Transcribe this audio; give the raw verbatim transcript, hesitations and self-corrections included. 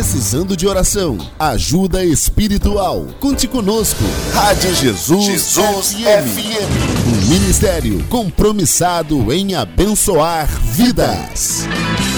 Precisando de oração, ajuda espiritual? Conte conosco. Rádio Jesus, Jesus F M. Um ministério compromissado em abençoar vidas.